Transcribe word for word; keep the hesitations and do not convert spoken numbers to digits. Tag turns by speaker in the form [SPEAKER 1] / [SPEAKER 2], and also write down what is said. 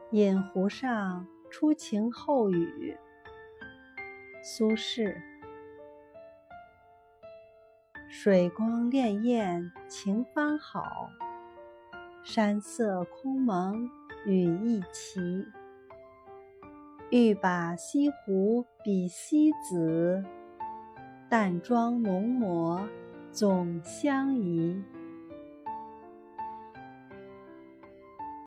[SPEAKER 1] 饮湖上初晴后雨。苏轼。水光潋滟晴方好，山色空蒙雨亦奇。欲把西湖比西子，淡妆浓抹总相宜。